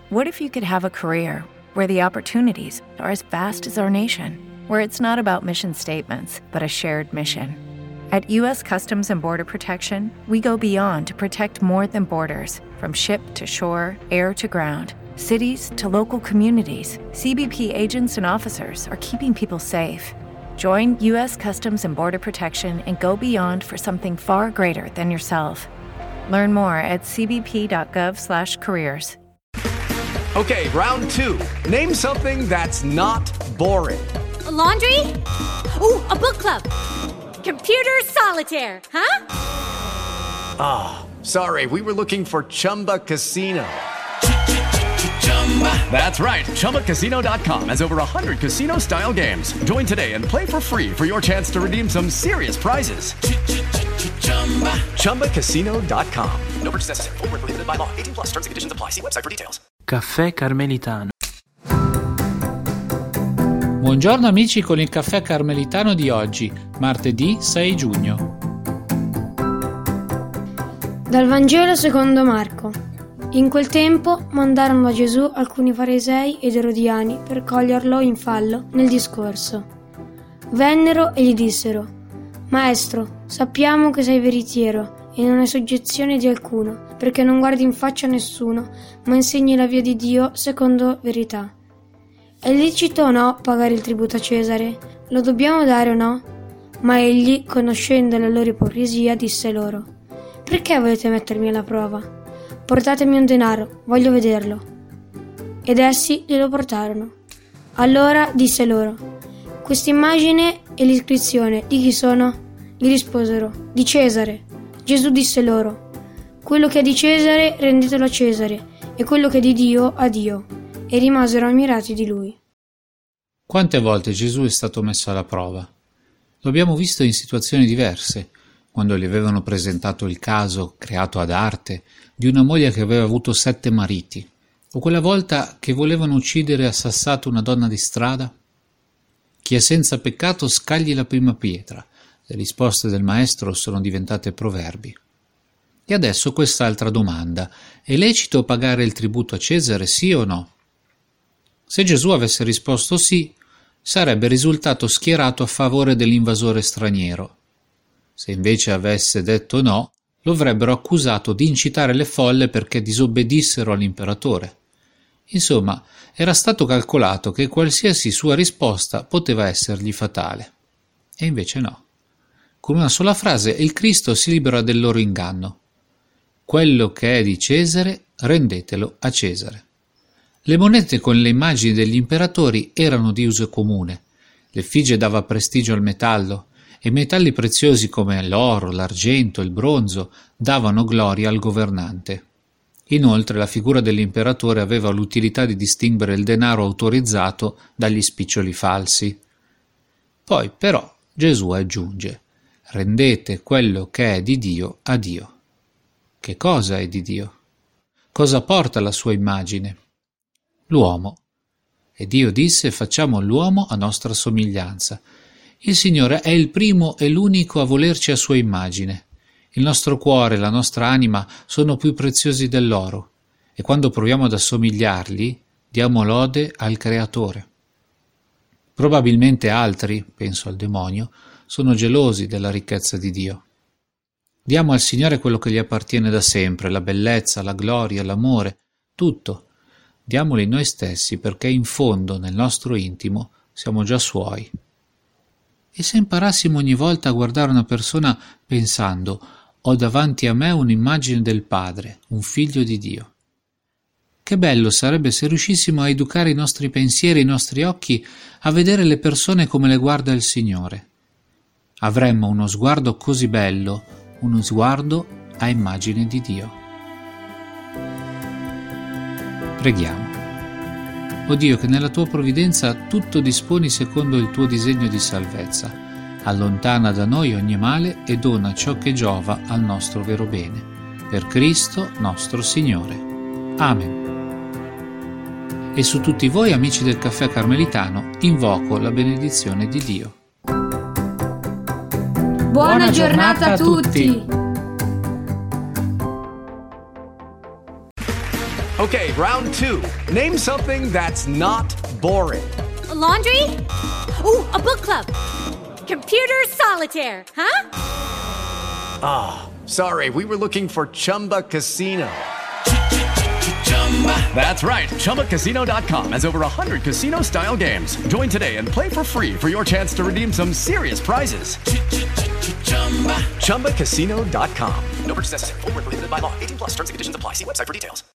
What if you could have a career where the opportunities are as vast as our nation, where it's not about mission statements, but a shared mission? At U.S. Customs and Border Protection, we go beyond to protect more than borders. From ship to shore, air to ground, cities to local communities, CBP agents and officers are keeping people safe. Join U.S. Customs and Border Protection and go beyond for something far greater than yourself. Learn more at cbp.gov/careers. Okay, round two. Name something that's not boring. A laundry? Ooh, a book club. Computer solitaire, huh? Sorry, we were looking for Chumba Casino. That's right. ChumbaCasino.com has over 100 casino-style games. Join today and play for free for your chance to redeem some serious prizes. ChumbaCasino.com. No purchase necessary. Void where prohibited by law. 18+ terms and conditions apply. See website for details. Caffè Carmelitano. Buongiorno amici con il caffè carmelitano di oggi, martedì 6 giugno. Dal Vangelo secondo Marco. In quel tempo mandarono a Gesù alcuni farisei ed erodiani per coglierlo in fallo nel discorso. Vennero e gli dissero: Maestro, sappiamo che sei veritiero e non hai soggezione di alcuno, perché non guardi in faccia a nessuno, ma insegni la via di Dio secondo verità. È lecito o no pagare il tributo a Cesare? Lo dobbiamo dare o no? Ma egli, conoscendo la loro ipocrisia, disse loro: Perché volete mettermi alla prova? Portatemi un denaro, voglio vederlo. Ed essi glielo portarono. Allora disse loro: Questa immagine e l'iscrizione di chi sono? Gli risposero: Di Cesare. Gesù disse loro: Quello che è di Cesare rendetelo a Cesare, e quello che è di Dio a Dio. E rimasero ammirati di lui. Quante volte Gesù è stato messo alla prova? Lo abbiamo visto in situazioni diverse, quando gli avevano presentato il caso, creato ad arte, di una moglie che aveva avuto 7 mariti, o quella volta che volevano uccidere a sassato una donna di strada. Chi è senza peccato scagli la prima pietra. Le risposte del maestro sono diventate proverbi. E adesso quest'altra domanda: è lecito pagare il tributo a Cesare, sì o no? Se Gesù avesse risposto sì, sarebbe risultato schierato a favore dell'invasore straniero. Se invece avesse detto no, lo avrebbero accusato di incitare le folle perché disobbedissero all'imperatore. Insomma, era stato calcolato che qualsiasi sua risposta poteva essergli fatale. E invece no. Con una sola frase il Cristo si libera del loro inganno. Quello che è di Cesare, rendetelo a Cesare. Le monete con le immagini degli imperatori erano di uso comune. L'effigie dava prestigio al metallo, e metalli preziosi come l'oro, l'argento, il bronzo davano gloria al governante. Inoltre la figura dell'imperatore aveva l'utilità di distinguere il denaro autorizzato dagli spiccioli falsi. Poi però Gesù aggiunge: rendete quello che è di Dio a Dio. Che cosa è di Dio? Cosa porta la sua immagine? L'uomo. E Dio disse: facciamo l'uomo a nostra somiglianza. Il Signore è il primo e l'unico a volerci a sua immagine. Il nostro cuore e la nostra anima sono più preziosi dell'oro, e quando proviamo ad assomigliargli, diamo lode al Creatore. Probabilmente altri, penso al demonio, sono gelosi della ricchezza di Dio. Diamo al Signore quello che gli appartiene da sempre, la bellezza, la gloria, l'amore, tutto. Diamoli noi stessi, perché in fondo, nel nostro intimo, siamo già Suoi. E se imparassimo ogni volta a guardare una persona pensando: ho davanti a me un'immagine del Padre, un figlio di Dio. Che bello sarebbe se riuscissimo a educare i nostri pensieri e i nostri occhi a vedere le persone come le guarda il Signore. Avremmo uno sguardo così bello, uno sguardo a immagine di Dio. Preghiamo. O Dio, che nella tua provvidenza tutto disponi secondo il tuo disegno di salvezza, allontana da noi ogni male e dona ciò che giova al nostro vero bene. Per Cristo nostro Signore. Amen. E su tutti voi, amici del Caffè Carmelitano, invoco la benedizione di Dio. Buona giornata a tutti! Okay, round two. Name something that's not boring. A laundry? Ooh, a book club. Computer solitaire, huh? Sorry, we were looking for Chumba Casino. That's right. ChumbaCasino.com has over 100 casino-style games. Join today and play for free for your chance to redeem some serious prizes. ChumbaCasino.com. No purchase necessary. Void where prohibited by law. 18+ terms and conditions apply. See website for details.